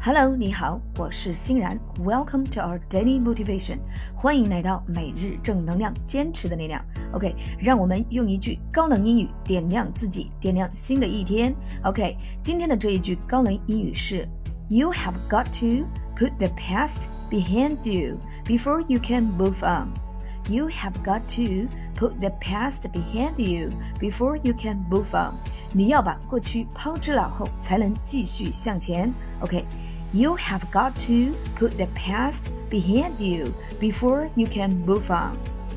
Hello， 你好，我是欣然。Welcome to our daily motivation， 欢迎来到每日正能量，坚持的力量。OK， 让我们用一句高能英语点亮自己，点亮新的一天。OK， 今天的这一句高能英语是 You have got to put the past behind you before you can move on.You have got to put the past behind you before you can move on. 你要把过去抛之脑后，才能继续向前。OK，You have got to put the past behind you before you can move on.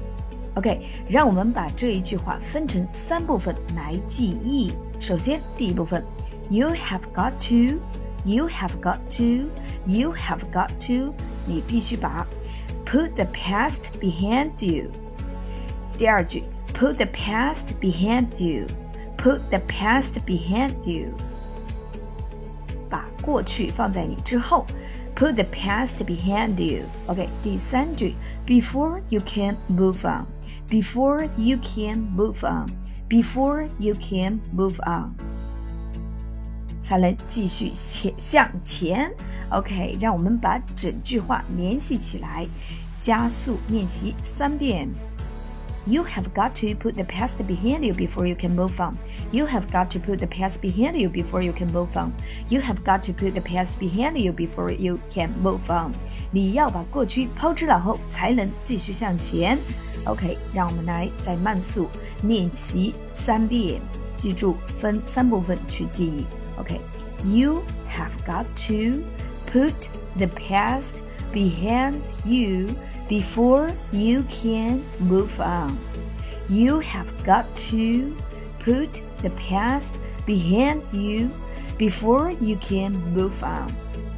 OK， 让我们把这一句话分成3部分来记忆。首先，第一部分 ，You have got to, you have got to, you have got to， 你必须把Put the past behind you. 第二句 Put the past behind you. Put the past behind you. 把过去放在你之后 Put the past behind you. OK， 第三句 Before you can move on. Before you can move on. Before you can move on. 才能继续向前。OK， 让我们把整句话联系起来，加速练习3遍。You have got to put the past behind you before you can move on. You have got to put the past behind you before you can move on. You have got to put the past behind you before you can move on. 你要把过去抛之脑后，才能继续向前。OK， 让我们来再慢速练习3遍，记住分3部分去记忆。OK，You have got to put the past behind you before you can move on. You have got to put the past behind you before you can move on.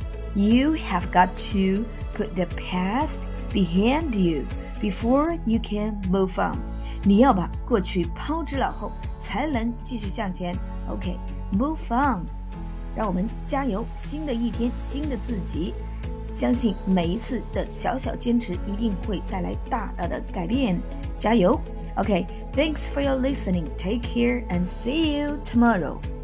You have got to put the past behind you before you can move on. 你要把过去抛之脑后，才能继续向前。OK，move on。让我们加油，新的一天，新的自己。相信每一次的小小坚持一定会带来大大的改变，加油 ！OK， thanks for your listening. Take care and see you tomorrow.